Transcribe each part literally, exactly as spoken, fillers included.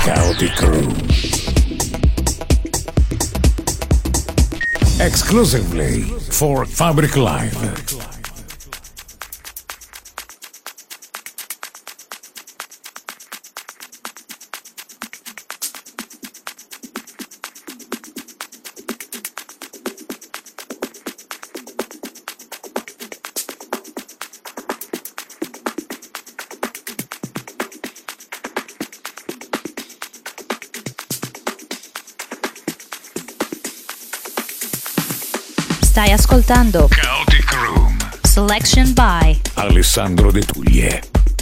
Chaotic Room. Exclusively for Fabric Live. Stai ascoltando Chaotic Room. Selection by Alessandro De Tuglie.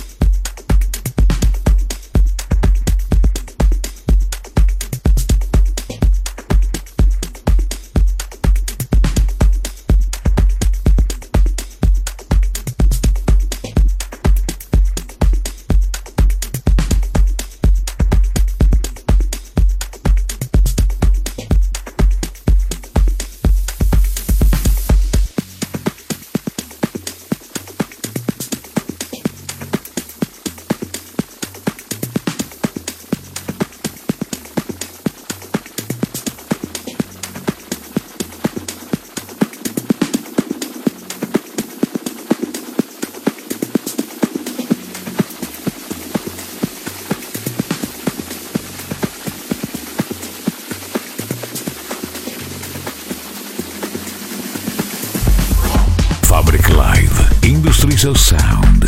Fabric Live, Industries of Sound.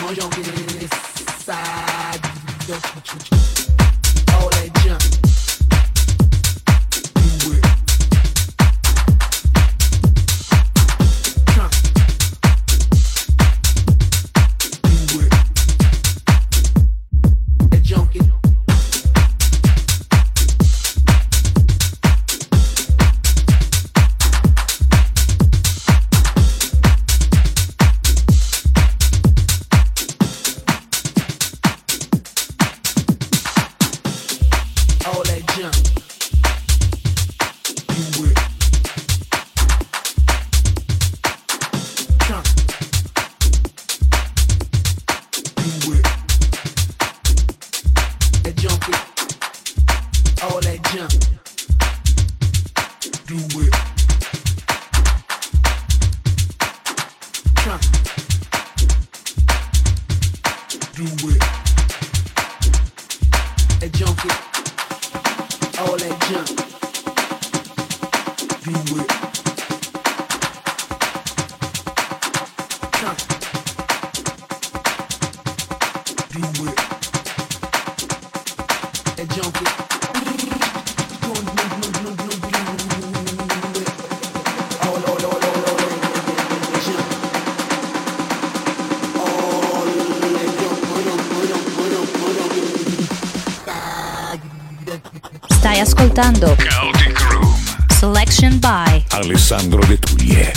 Stai ascoltando Chaotic Room. Selection by Alessandro De Tuglie.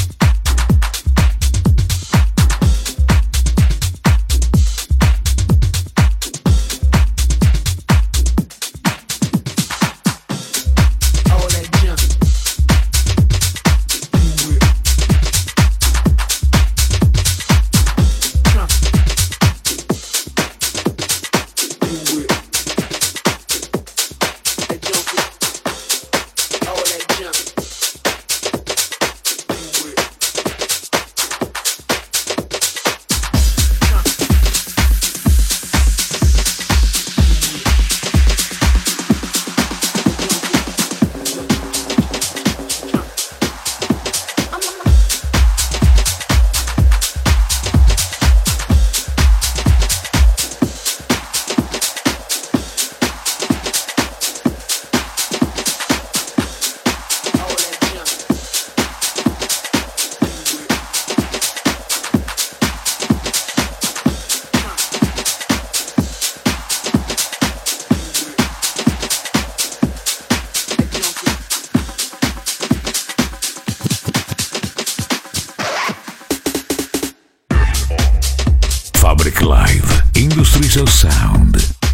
Fabric Live, Industries of Sound.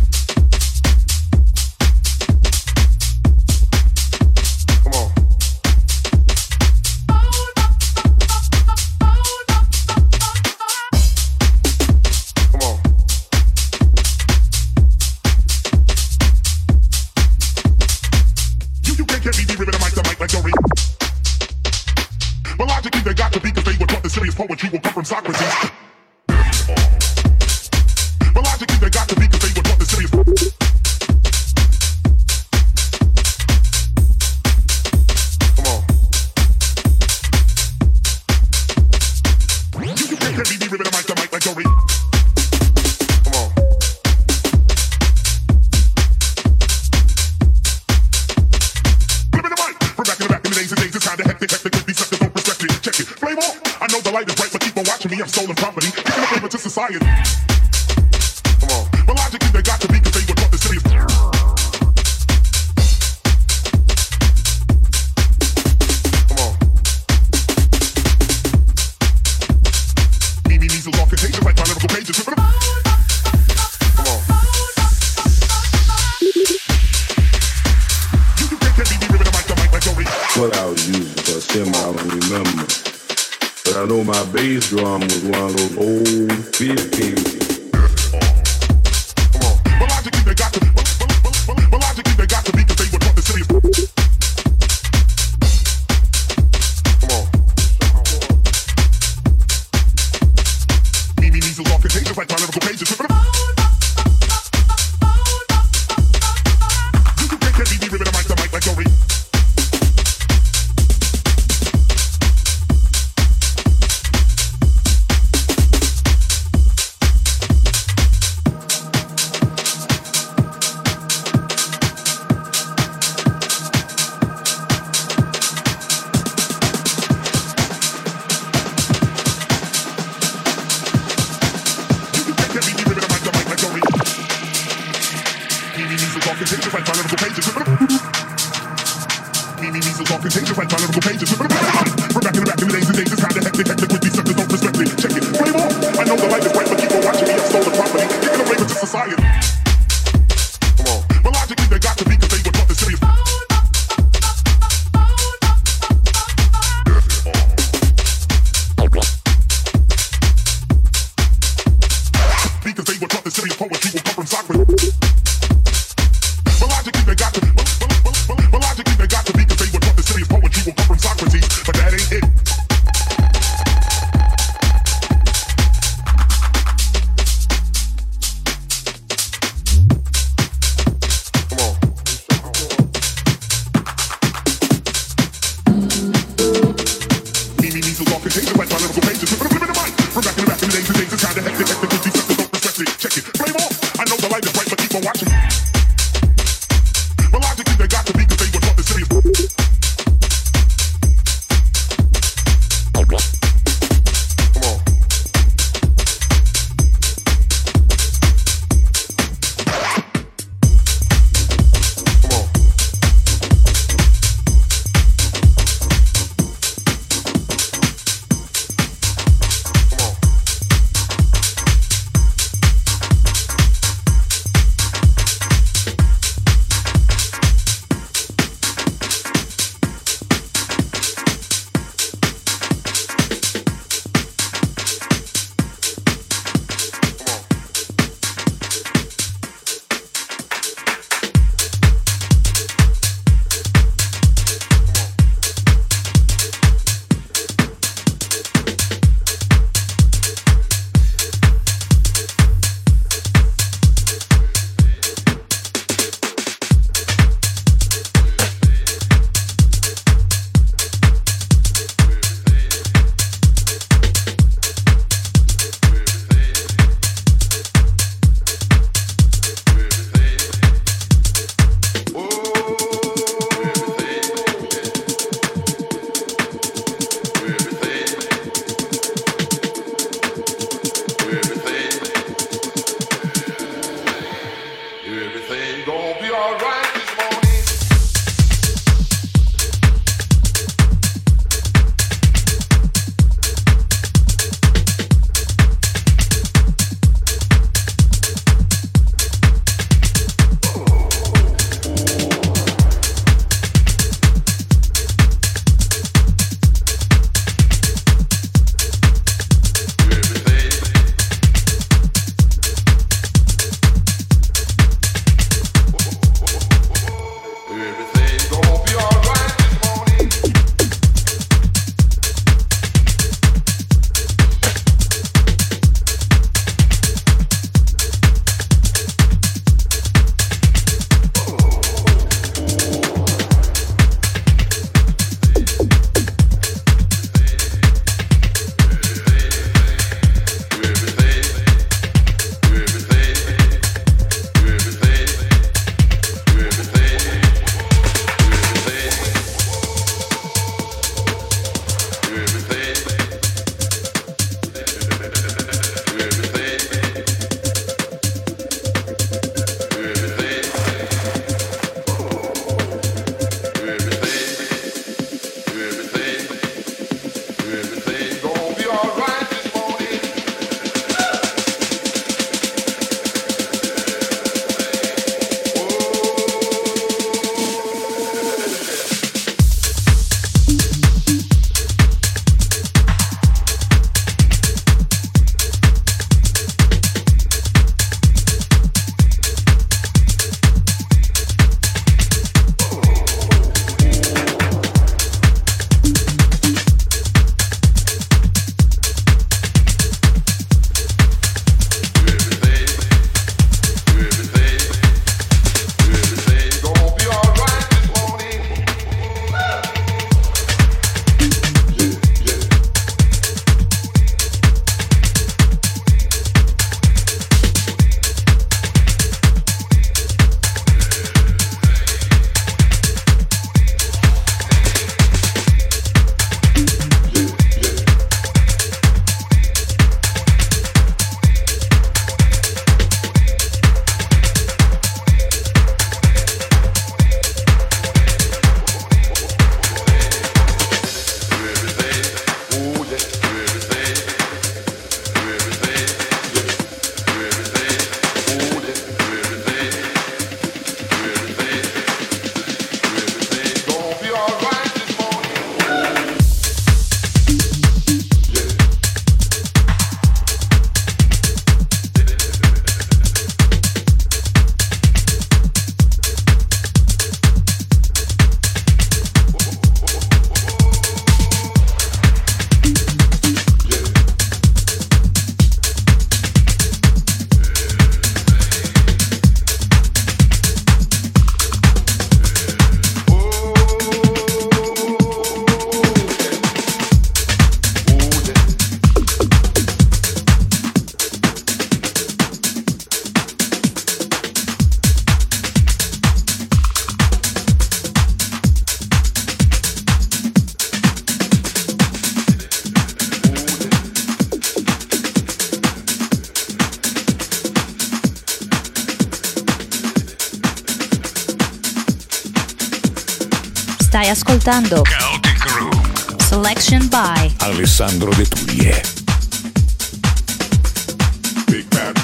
Poetry will come from Socrates. But logically they got to be, cause they were taught the serious. Come on. You, you can't get me, me ripping the mic, the mic like Dory. Come on. Flipping the mic from back in the back in the days and days. It's kinda hectic, hectic, with these suckers don't respect it. Check it, flame on. I know the light is bright, but keep on watching me. I'm stolen property, giving a favor to society. Come on, but logically they got to be, cause they were taught the serious. Come on. Me, me, measles, all contagious like my lyrical pages. Come on. You, you can't get me, me ripping the mic, the mic like Dory. What I was using, because him I don't remember. But I know my bass drum was one of those old fifties. Come on. But logically they got to be, but, but, but, but, but logically they got to be, cause they were taught the serious. Come on. Me, me, measles, all contagious like my lyrical pages. You, you can't get me, me ripping the mic, the mic like Dory. contagious like my lyrical pages. Me, me, measles all contagious like my lyrical pages. We're back in the back in the days and days, it's kinda hectic, hectic with these suckers, don't respect it. Check it, flame on. I know the light is bright, but keep on watching me, I've stolen property. Taking a flavor to society. Come on. But logically they got to be, cause they were taught this serious. Because they were taught the serious poetry will come from Socrates. But logically they got to, but, but, but, but, but logically they got to be, because they were taught the serious poetry will come from Socrates. But that ain't it. Come on. Me, me, measles all contagious like my lyrical pages. From back in the back in the days and days, it's kinda hectic, hectic with these suckers, don't respect it. Check it, flame on. I know the light is bright, but keep on watching. But logically they got to be, cause they were taught the serious. Come on. Come on. Stai ascoltando Chaotic Room. Selection by Alessandro De Tuglie. Big bad.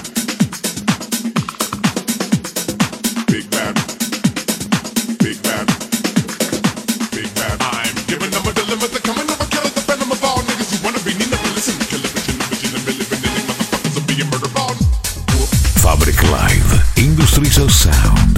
Big bad. Big bad. Big bad. I'm giving them a dilemma. They're coming over, killing the venom of all niggas who wanna be need to listen. Kill a bitch in the bitch in the million, million motherfuckers are being murdered on. Fabric Live. Industries of Sound.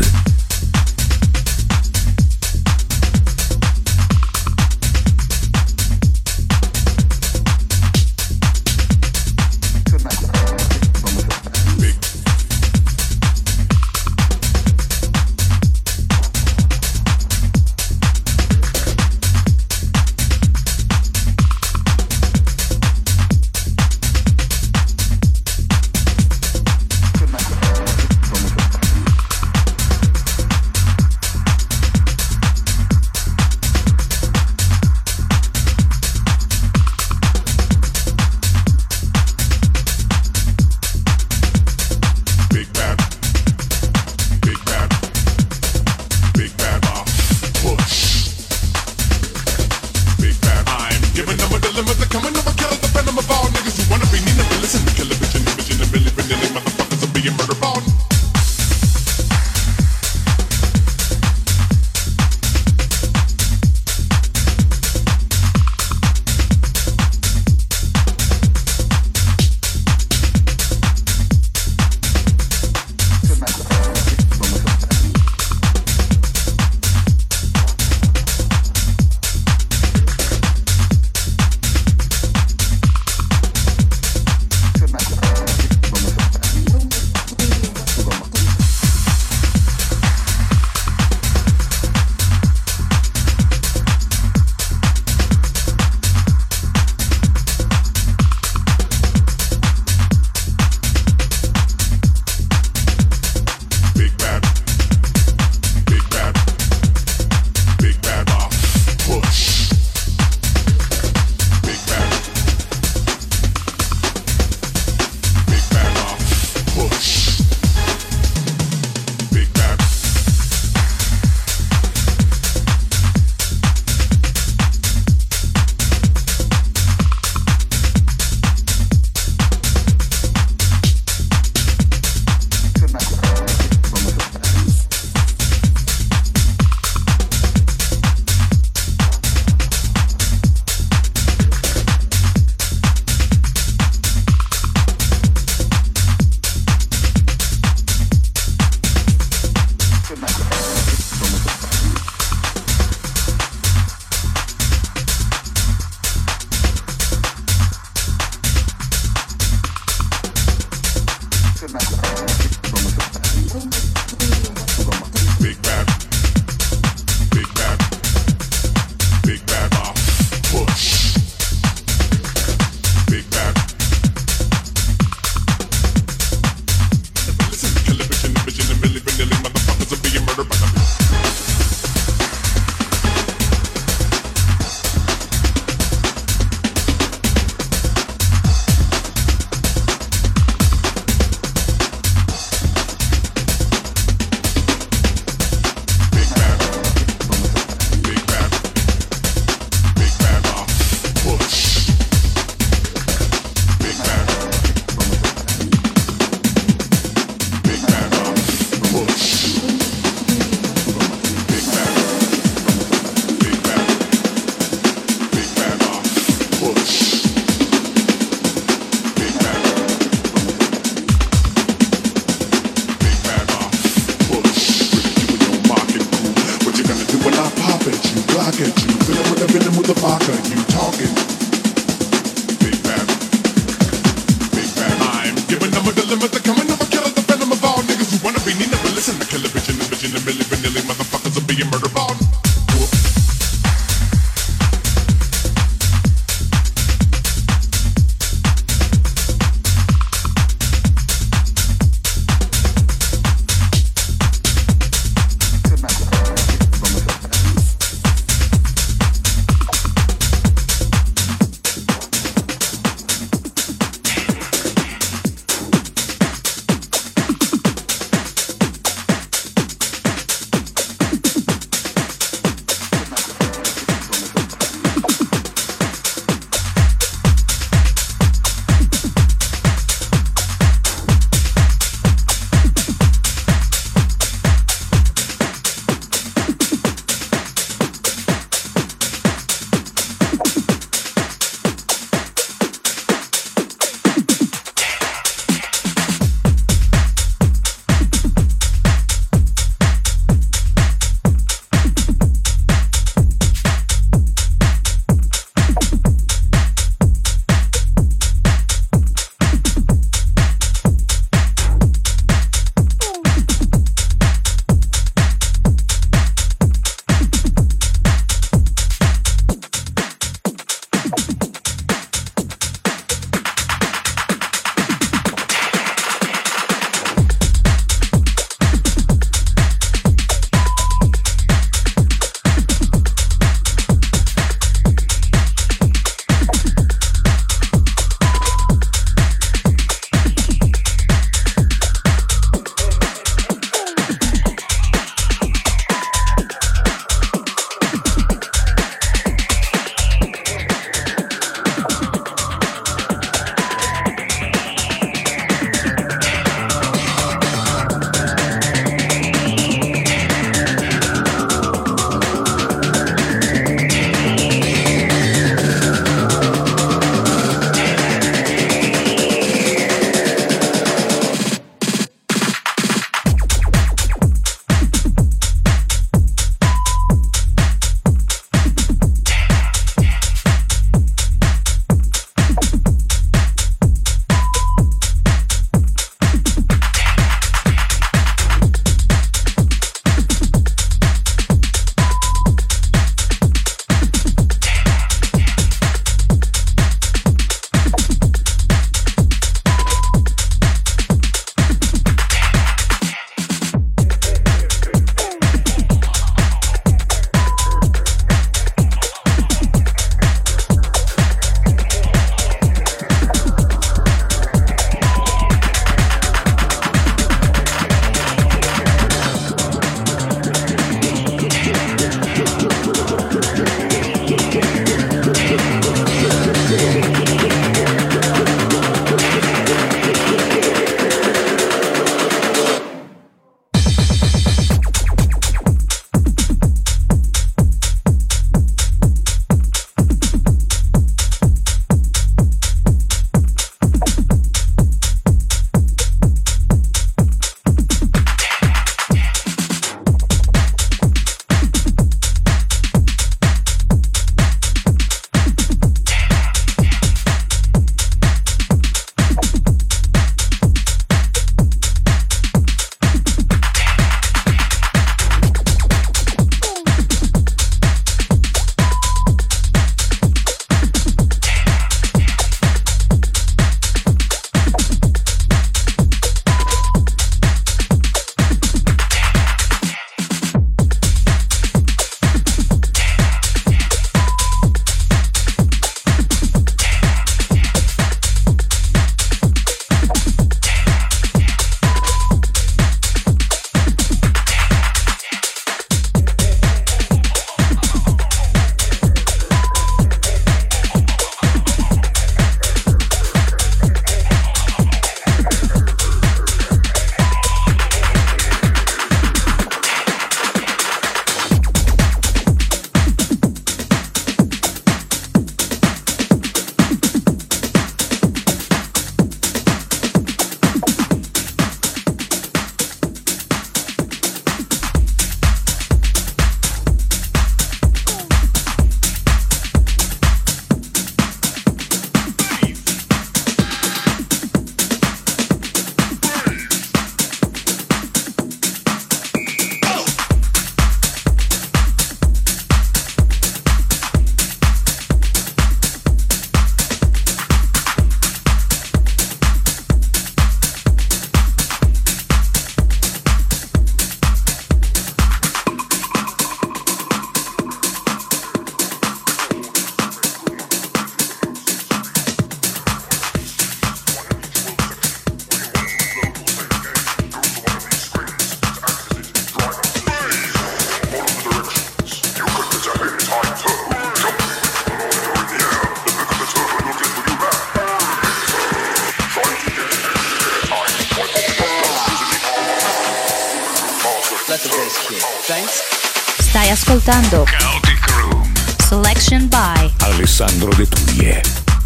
Stai ascoltando Chaotic Room. Selection by Alessandro De Tuglie.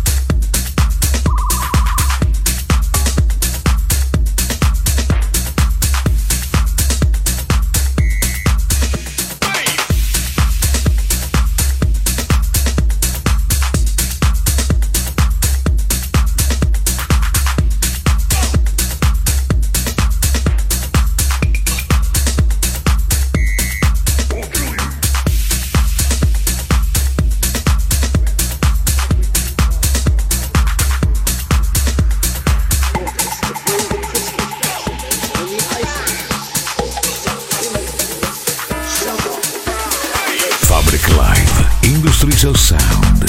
Fabric Live, Industries of Sound.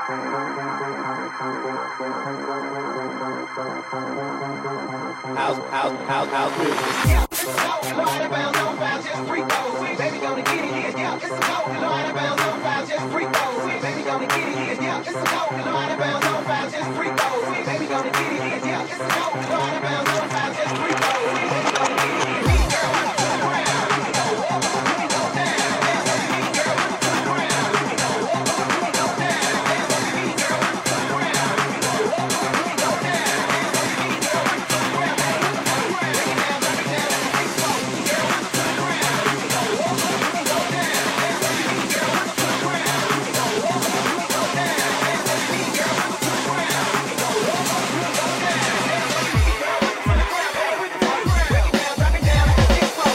House, house, house, house music. Yeah, it's a go. Go out of bounds, on bounds, just freak those. Baby, gonna get it here. Yeah, it's a go. Go out of bounds, on bounds, just freak those. Baby, gonna get it here. Yeah, it's a go. Go out of bounds, on bounds, just freak those. Baby, gonna get it here. Yeah, it's a go. Go out of bounds, on bounds, just freak those. Baby, gonna get it here. Mean girl, turn around. Let me go up. Let me go down. Dance with me, mean girl, turn around. Let me go up. Let me go down. Dance with me, mean girl, turn around. Let me go up. Let me go down. Dance with me, mean girl, turn around. Break it down, break it down, let me freak flow. Girl, turn around. Let me go up. Let me go down. Dance with me, mean girl, turn around. Let me go up. Let me go down. Dance with me, mean girl, turn around. Let me go up. Let me go down. Dance with me, mean girl, turn around. Break it down, break it down, let me freak flow.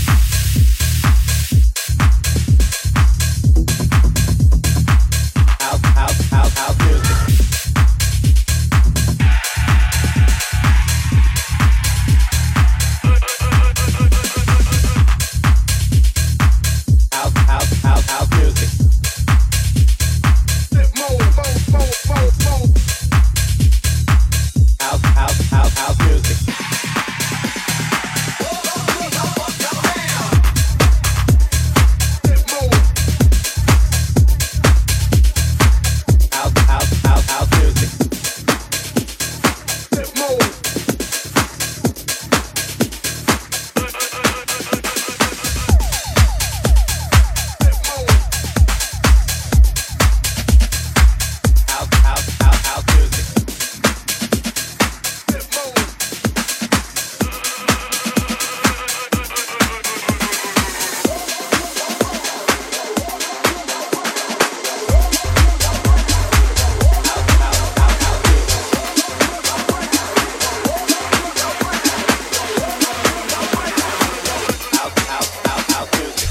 House, house, house, house music. House, house, house, house music. House, house, house, house music. House, house, house, house music. House, house, house, house music. House, house, house, house music.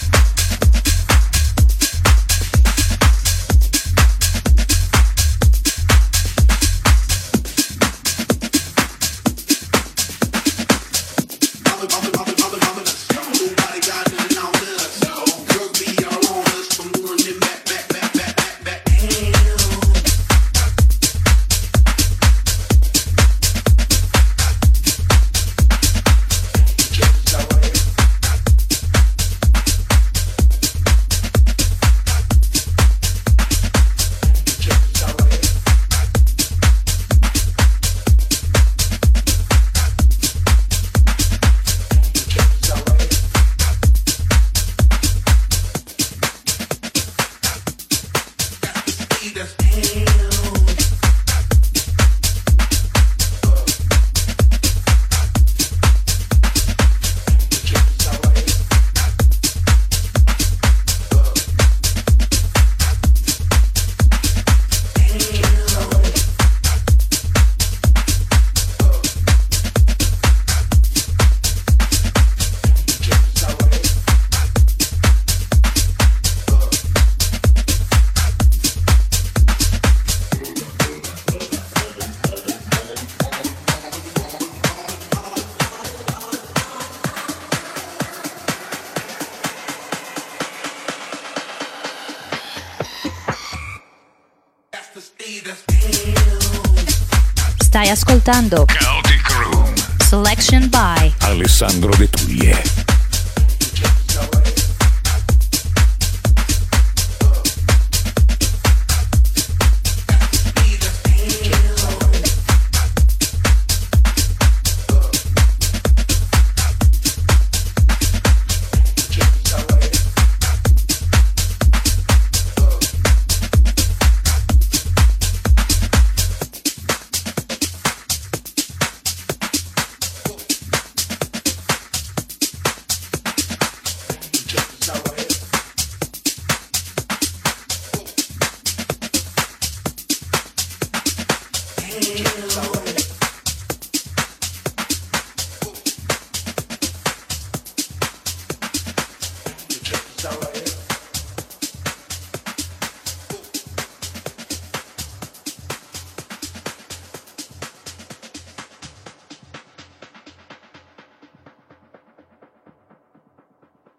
Stai ascoltando Chaotic Room. Selection by Alessandro De Tuglie.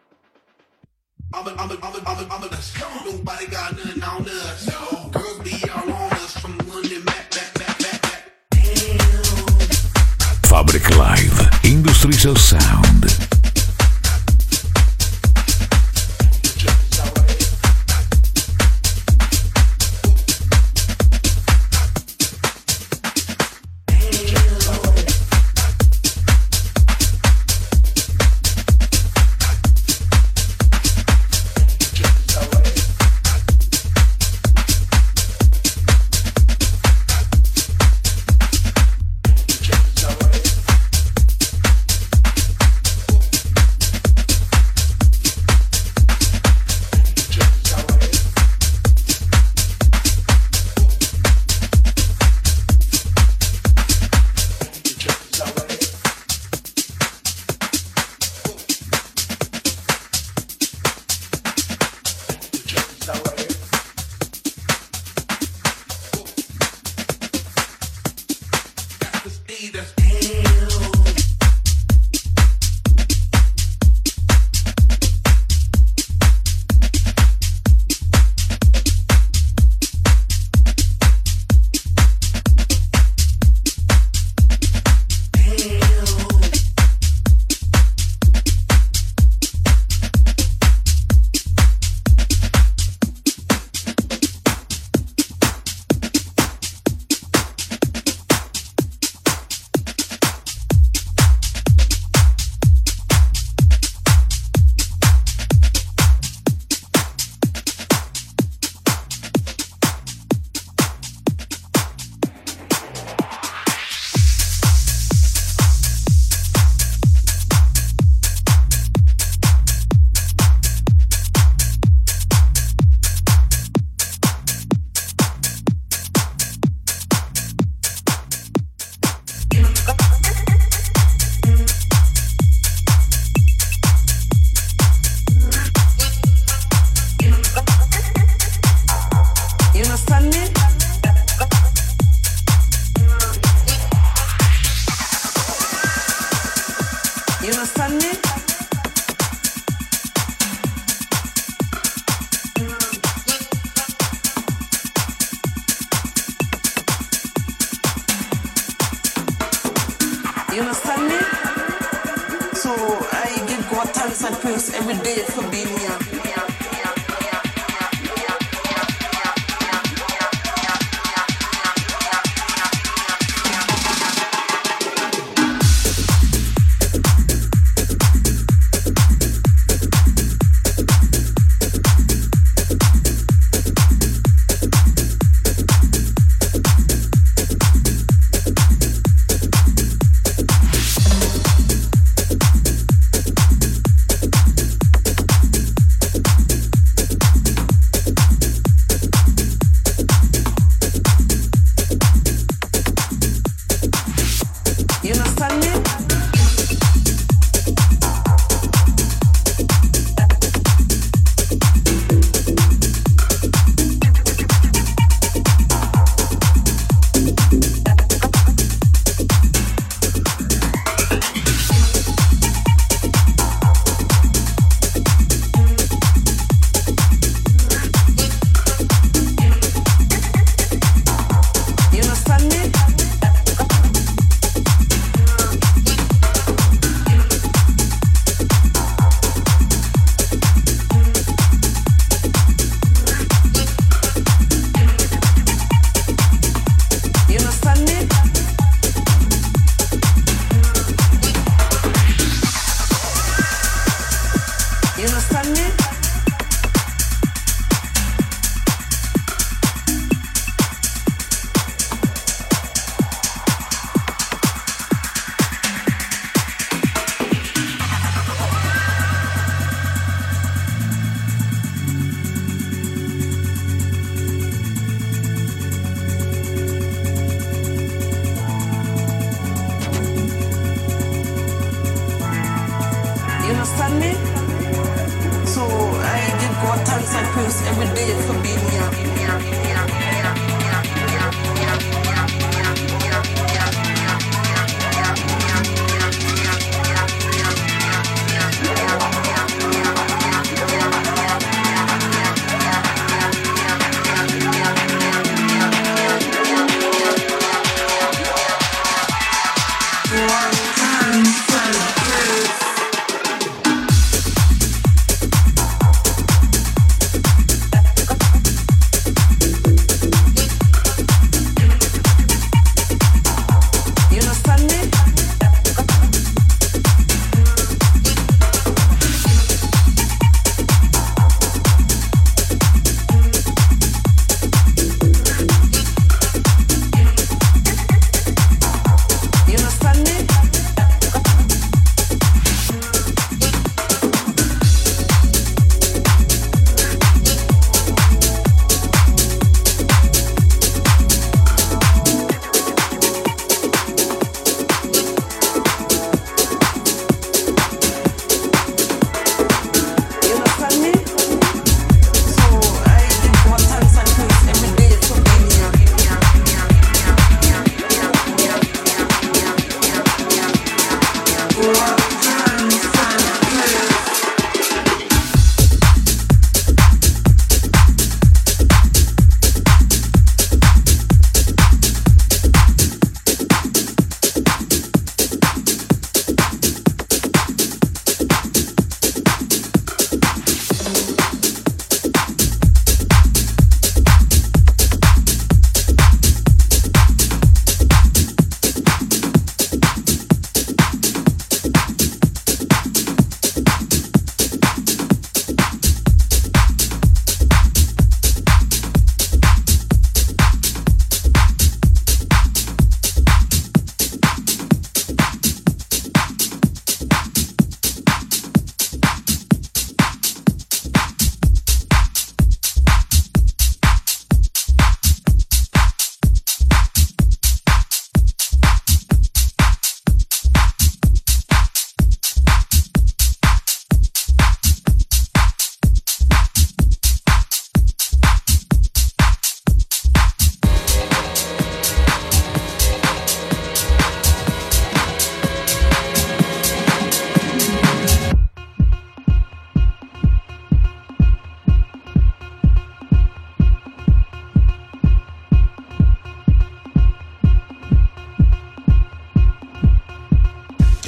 I'm a, I'm a, I'm a, I'm a, I'm a, let's go. Nobody got nothing on us. No. Girls be Industries of Sound. One time,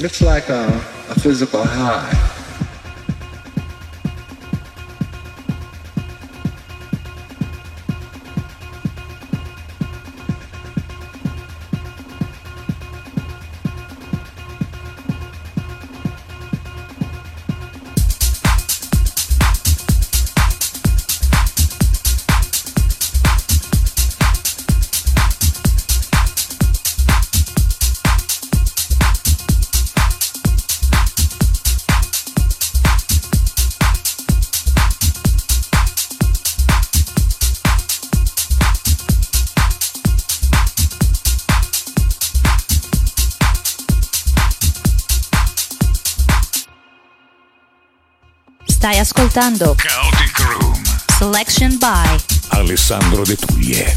It's like a, a physical high. Stai ascoltando Chaotic Room. Selection by Alessandro De Tuglie.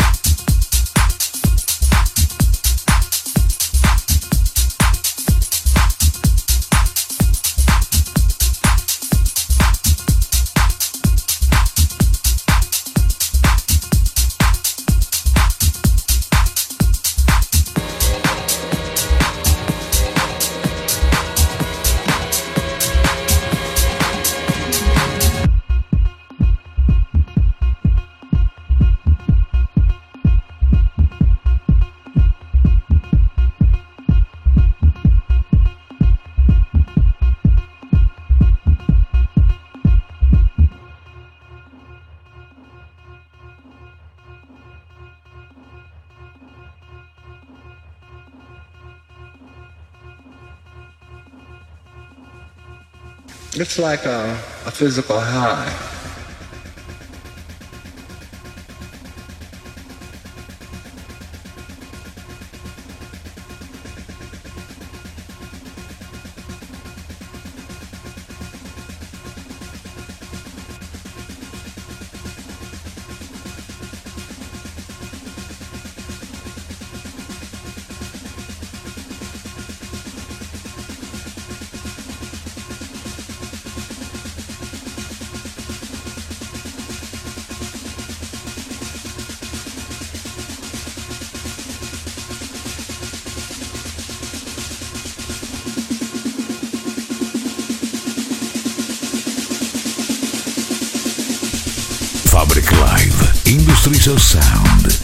It's like a, a physical high. Fabric Live, Industries of Sound.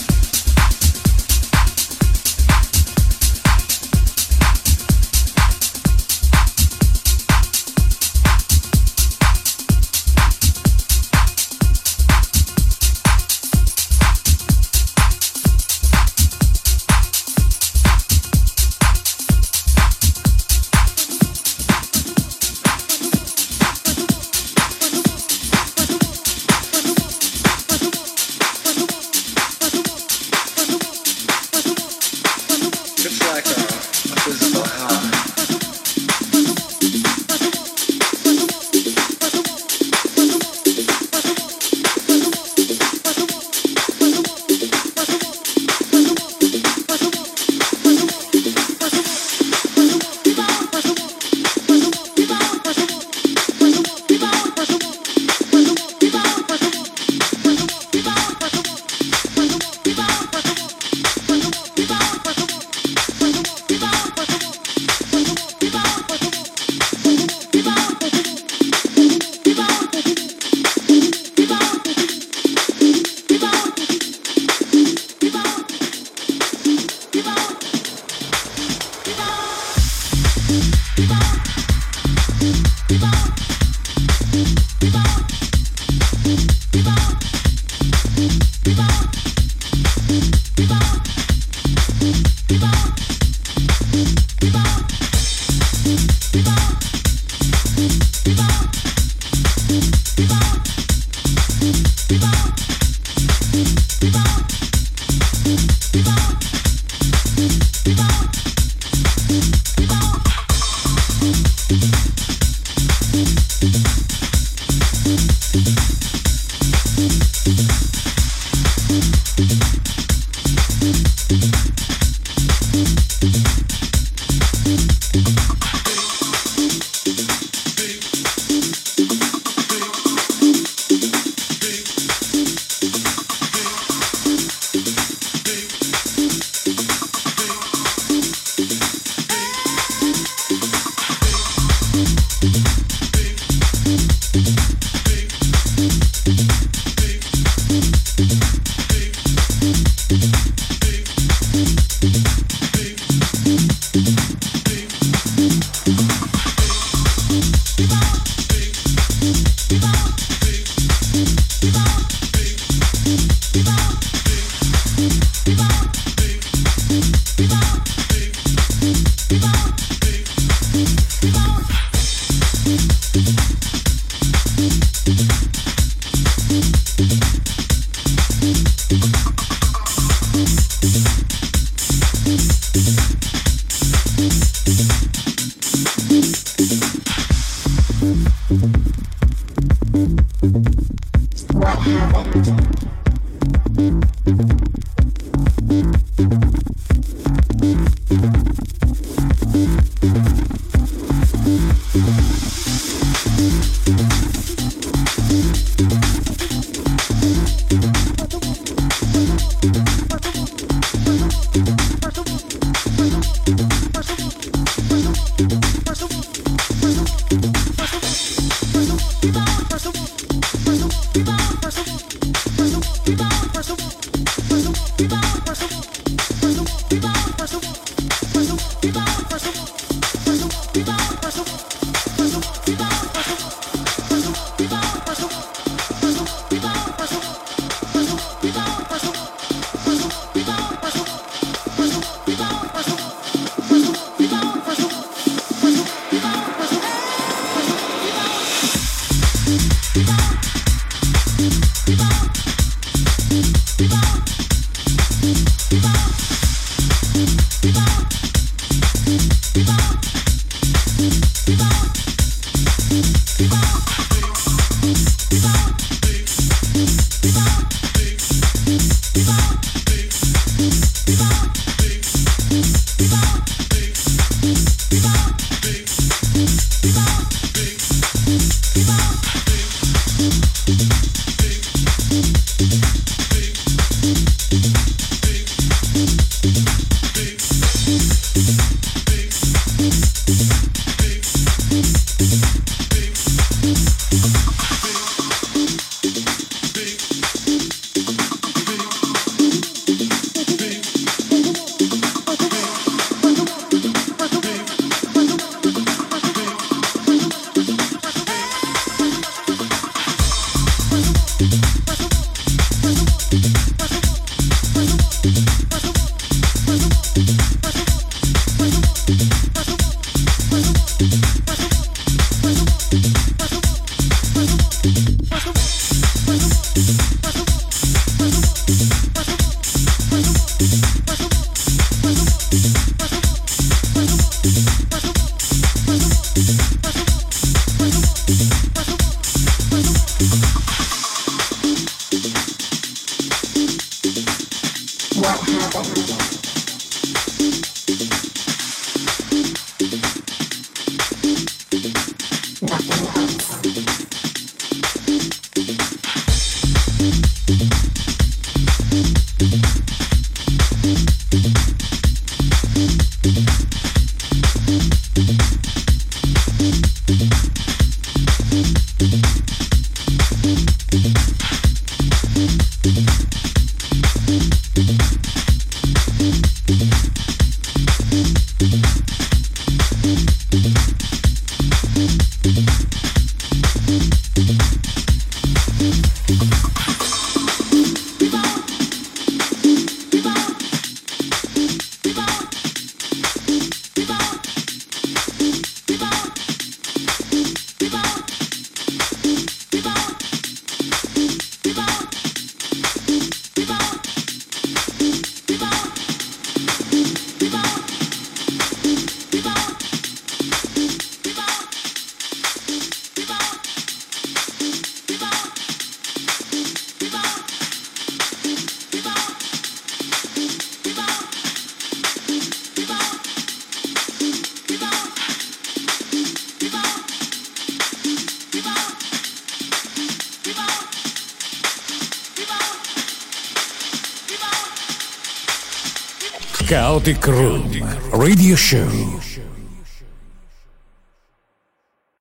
Chaotic Room Radio Show.